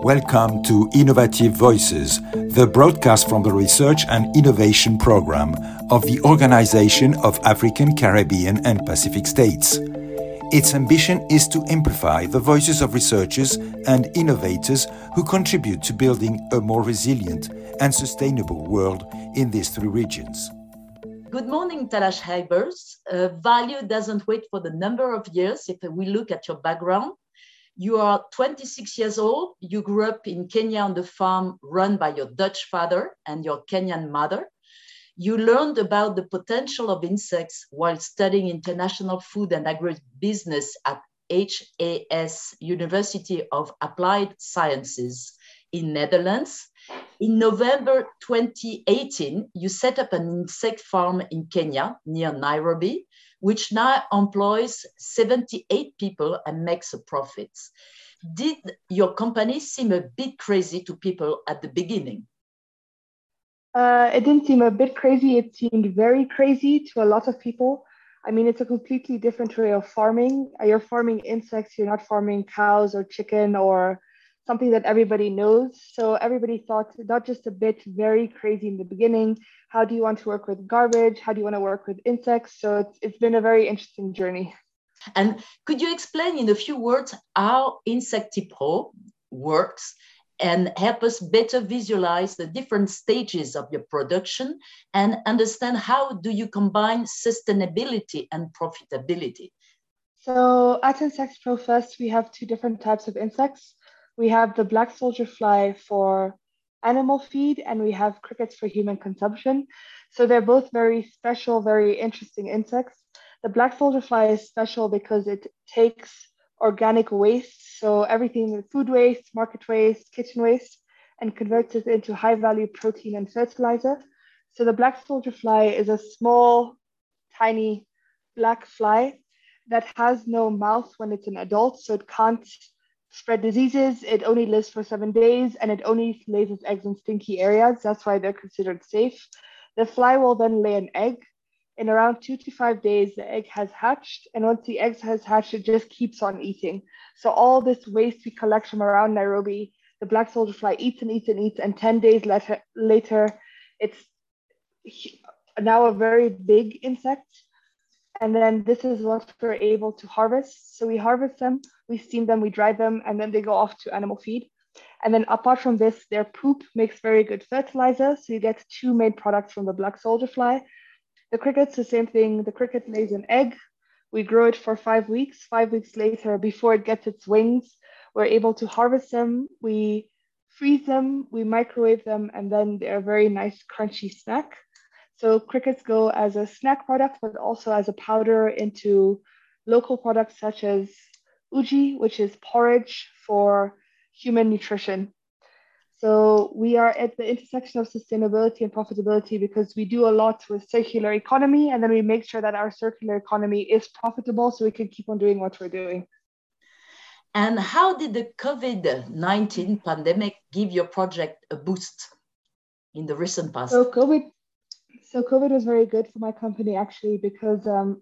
Welcome to Innovative Voices, the broadcast from the Research and Innovation Program of the Organization of African, Caribbean and Pacific States. Its ambition is to amplify the voices of researchers and innovators who contribute to building a more resilient and sustainable world in these three regions. Good morning, Talash Haibers. Value doesn't wait for the number of years. If we look at your background, you are 26 years old. You grew up in Kenya on the farm run by your Dutch father and your Kenyan mother. You learned about the potential of insects while studying international food and agribusiness at HAS, University of Applied Sciences in Netherlands. In November 2018, you set up an insect farm in Kenya near Nairobi, which now employs 78 people and makes a profit. Did your company seem a bit crazy to people at the beginning? It didn't seem a bit crazy. It seemed very crazy to a lot of people. I mean, it's a completely different way of farming. You're farming insects. You're not farming cows or chicken or something that everybody knows. So everybody thought not just a bit very crazy in the beginning. How do you want to work with garbage? How do you want to work with insects? So it's been a very interesting journey. And could you explain in a few words how InsectiPro works and help us better visualize the different stages of your production and understand how do you combine sustainability and profitability? So at InsectiPro first, we have two different types of insects. We have the black soldier fly for animal feed, and we have crickets for human consumption. So they're both very special, very interesting insects. The black soldier fly is special because it takes organic waste, so everything food waste, market waste, kitchen waste, and converts it into high-value protein and fertilizer. So the black soldier fly is a small, tiny black fly that has no mouth when it's an adult, so it can't spread diseases. It only lives for 7 days and it only lays its eggs in stinky areas. That's why they're considered safe. The fly will then lay an egg. In around 2 to 5 days, the egg has hatched. And once the egg has hatched, it just keeps on eating. So all this waste we collect from around Nairobi, the black soldier fly eats and eats and eats. And 10 days later, it's now a very big insect. And then this is what we're able to harvest. So we harvest them, we steam them, we dry them, and then they go off to animal feed. And then apart from this, their poop makes very good fertilizer. So you get two main products from the black soldier fly. The cricket's the same thing. The cricket lays an egg. We grow it for 5 weeks. 5 weeks later, before it gets its wings, we're able to harvest them. We freeze them, we microwave them, and then they're a very nice crunchy snack. So crickets go as a snack product, but also as a powder into local products such as uji, which is porridge for human nutrition. So we are at the intersection of sustainability and profitability because we do a lot with circular economy, and then we make sure that our circular economy is profitable so we can keep on doing what we're doing. And how did the COVID-19 pandemic give your project a boost in the recent past? So COVID was very good for my company actually because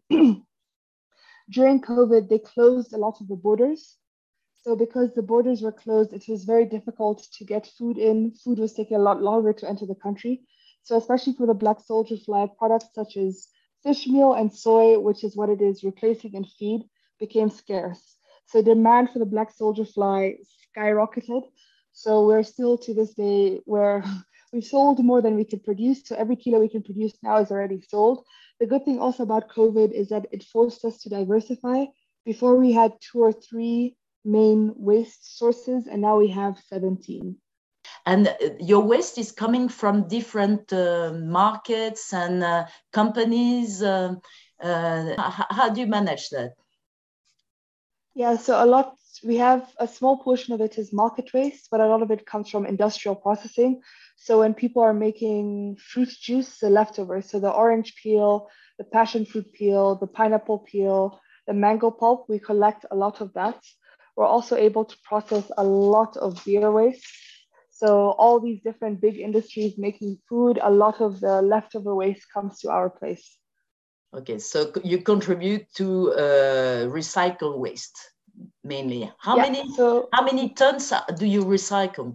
during COVID, they closed a lot of the borders. So because the borders were closed, it was very difficult to get food in. Food was taking a lot longer to enter the country. So especially for the black soldier fly, products such as fish meal and soy, which is what it is replacing in feed, became scarce. So demand for the black soldier fly skyrocketed. So we're still to this day where we've sold more than we could produce. So every kilo we can produce now is already sold. The good thing also about COVID is that it forced us to diversify. Before we had 2 or 3 main waste sources, and now we have 17. And your waste is coming from different markets and companies. How do you manage that? Yeah, so we have a small portion of it is market waste, but a lot of it comes from industrial processing. So when people are making fruit juice, the leftovers, so the orange peel, the passion fruit peel, the pineapple peel, the mango pulp, we collect a lot of that. We're also able to process a lot of beer waste. So all these different big industries making food, a lot of the leftover waste comes to our place. Okay, so you contribute to recycle waste. mainly. So how many tons do you recycle?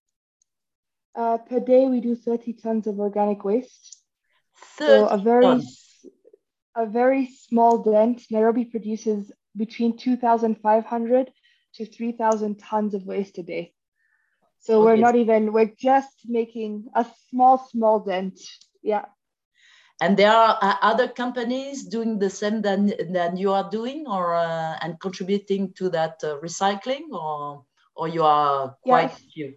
per day, we do 30 tons of organic waste. 30 So tons. a very small dent. Nairobi produces between 2,500 to 3,000 tons of waste a day. So Okay. we're just making a small dent. Yeah. And there are other companies doing the same than you are doing, or and contributing to that recycling, or you are quite Yes. few.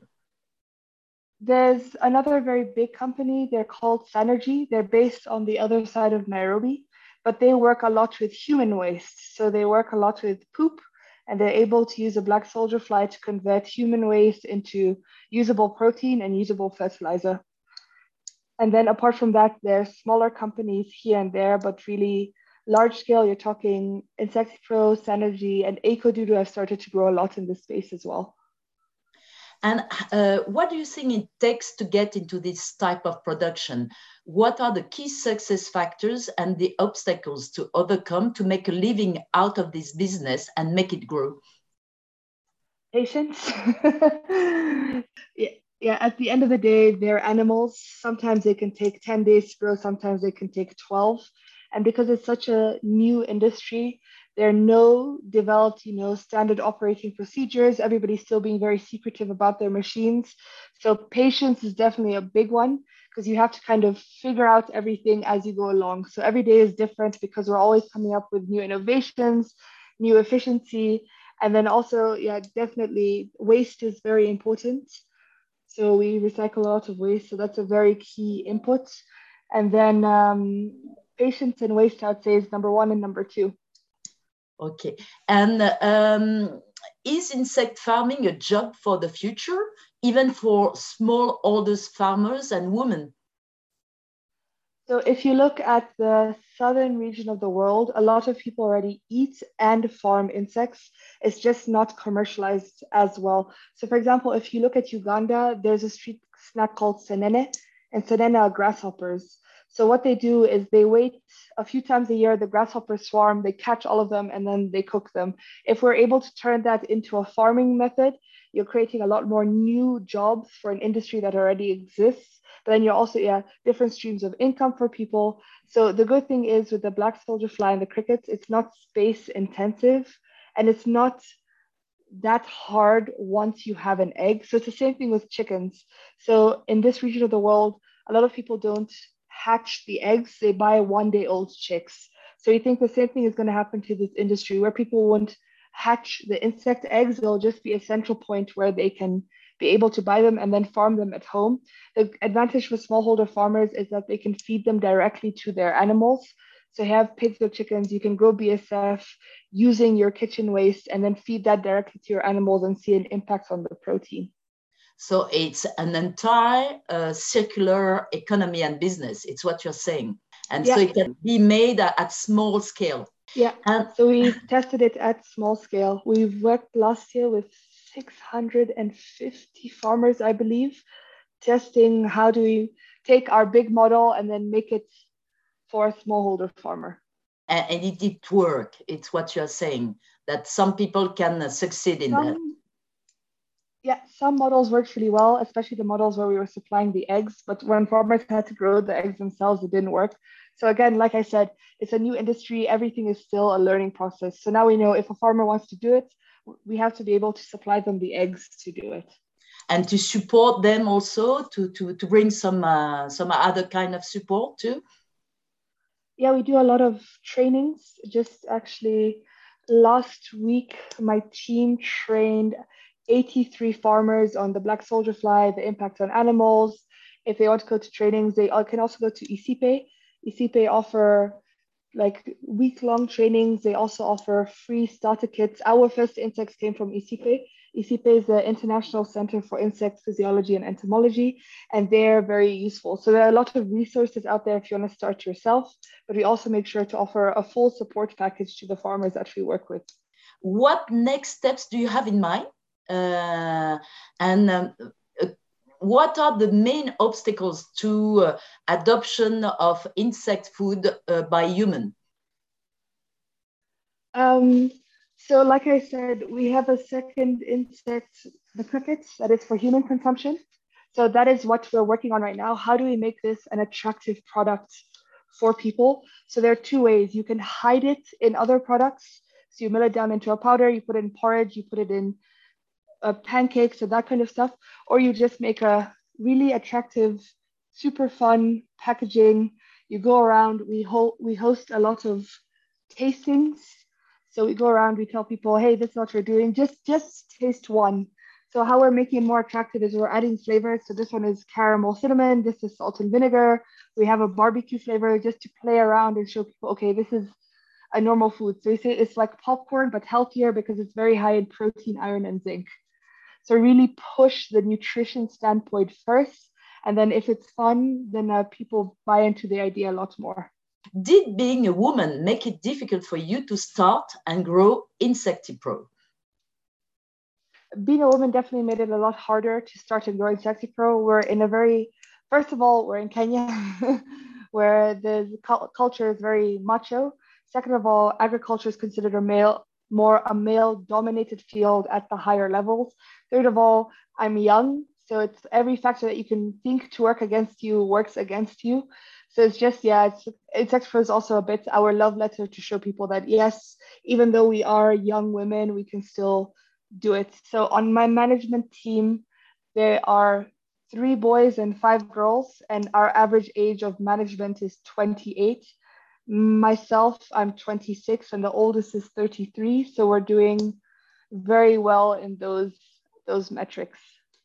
There's another very big company. They're called Sanergy. They're based on the other side of Nairobi, but they work a lot with human waste. So they work a lot with poop, and they're able to use a black soldier fly to convert human waste into usable protein and usable fertilizer. And then apart from that, there's smaller companies here and there, but really large scale, you're talking Insectipro, Sanergy, and EcoDoodoo have started to grow a lot in this space as well. And what do you think it takes to get into this type of production? What are the key success factors and the obstacles to overcome to make a living out of this business and make it grow? Patience. Yeah, yeah, at the end of the day, they're animals. Sometimes they can take 10 days to grow, sometimes they can take 12. And because it's such a new industry, there are no developed, standard operating procedures. Everybody's still being very secretive about their machines. So patience is definitely a big one because you have to kind of figure out everything as you go along. So every day is different because we're always coming up with new innovations, new efficiency. And then also, yeah, definitely waste is very important. So we recycle a lot of waste. So that's a very key input. And then patience and waste, I would say, is number one and number two. Okay. And is insect farming a job for the future, even for smallholder farmers and women? So if you look at the southern region of the world, a lot of people already eat and farm insects. It's just not commercialized as well. So for example, if you look at Uganda, there's a street snack called senene, and senene are grasshoppers. So what they do is they wait a few times a year, the grasshoppers swarm, they catch all of them, and then they cook them. If we're able to turn that into a farming method, you're creating a lot more new jobs for an industry that already exists. But then you're also, yeah, different streams of income for people. So the good thing is with the black soldier fly and the crickets, it's not space intensive and it's not that hard once you have an egg. So it's the same thing with chickens. So in this region of the world, a lot of people don't hatch the eggs, they buy 1 day old chicks. So you think the same thing is going to happen to this industry where people won't hatch the insect eggs, they'll just be a central point where they can be able to buy them and then farm them at home. The advantage for smallholder farmers is that they can feed them directly to their animals. So you have pigs or chickens, you can grow BSF using your kitchen waste and then feed that directly to your animals and see an impact on the protein. So it's an entire circular economy and business. It's what you're saying. And so Yeah. it can be made at small scale. Yeah. And So we've tested it at small scale. We've worked last year with 650 farmers, I believe, testing how do we take our big model and then make it for a smallholder farmer. and it did work. It's what you're saying, that some people can succeed in that. Yeah, some models worked really well, especially the models where we were supplying the eggs. But when farmers had to grow the eggs themselves, it didn't work. So again, like I said, it's a new industry. Everything is still a learning process. So now we know if a farmer wants to do it, we have to be able to supply them the eggs to do it. And to support them also, to bring some other kind of support too. Yeah, we do a lot of trainings. Just actually last week, my team trained 83 farmers on the black soldier fly, the impact on animals. If they want to go to trainings, they can also go to ICIPE. ICIPE offer like week-long trainings. They also offer free starter kits. Our first insects came from ICIPE. ICIPE is the International Center for Insect Physiology and Entomology, and they're very useful. So there are a lot of resources out there if you want to start yourself, but we also make sure to offer a full support package to the farmers that we work with. What next steps do you have in mind? And what are the main obstacles to adoption of insect food by human? So like I said, we have a second insect, the crickets, that is for human consumption. So that is what we're working on right now. How do we make this an attractive product for people? So there are two ways. You can hide it in other products. So you mill it down into a powder, you put it in porridge, you put it in pancakes and that kind of stuff, or you just make a really attractive, super fun packaging. You go around, we host a lot of tastings. So we go around, we tell people, hey, this is what we're doing. Just taste one. So how we're making it more attractive is we're adding flavors. So this one is caramel cinnamon, this is salt and vinegar. We have a barbecue flavor just to play around and show people, okay, this is a normal food. So we say it's like popcorn, but healthier because it's very high in protein, iron, and zinc. So really push the nutrition standpoint first. And then if it's fun, then people buy into the idea a lot more. Did being a woman make it difficult for you to start and grow InsectiPro? Being a woman definitely made it a lot harder to start and grow InsectiPro. We're in a very, first of all, we're in Kenya, where the culture is very macho. Second of all, agriculture is considered more a male-dominated field at the higher levels. Third of all, I'm young, so it's every factor that you can think to work against you works against you. So it's just, yeah, InsectiPro is also a bit our love letter to show people that, yes, even though we are young women, we can still do it. So on my management team, there are 3 boys and 5 girls, and our average age of management is 28. Myself, I'm 26, and the oldest is 33. So we're doing very well in those metrics.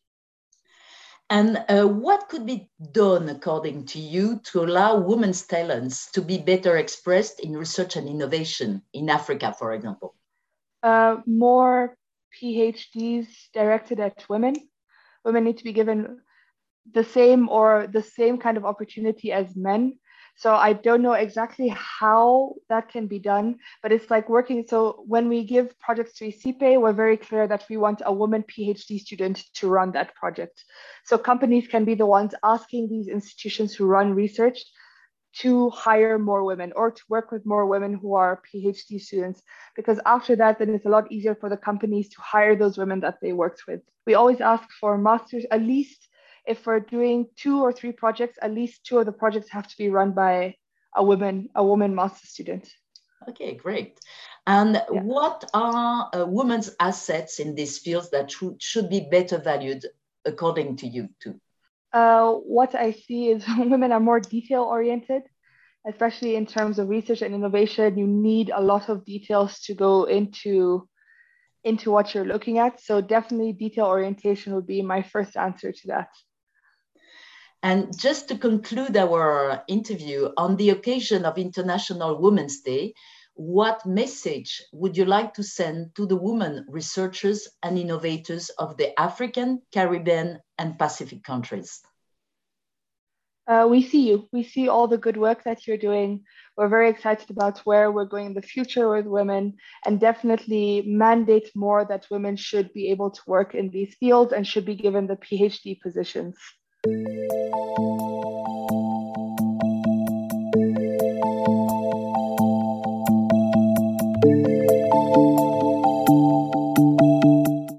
And what could be done, according to you, to allow women's talents to be better expressed in research and innovation in Africa, for example? More PhDs directed at women. Women need to be given the same kind of opportunity as men. So I don't know exactly how that can be done, but it's like working. So when we give projects to ICIPE, we're very clear that we want a woman PhD student to run that project. So companies can be the ones asking these institutions who run research to hire more women or to work with more women who are PhD students, because after that, then it's a lot easier for the companies to hire those women that they worked with. We always ask for masters, at least if we're doing 2 or 3 projects, at least 2 of the projects have to be run by a woman master student. Okay, great. And what are women's assets in these fields that should be better valued according to you too? What I see is women are more detail oriented, especially in terms of research and innovation. You need a lot of details to go into what you're looking at. So definitely detail orientation would be my first answer to that. And just to conclude our interview, on the occasion of International Women's Day, what message would you like to send to the women researchers and innovators of the African, Caribbean, and Pacific countries? We see you. We see all the good work that you're doing. We're very excited about where we're going in the future with women, and definitely mandate more that women should be able to work in these fields and should be given the PhD positions.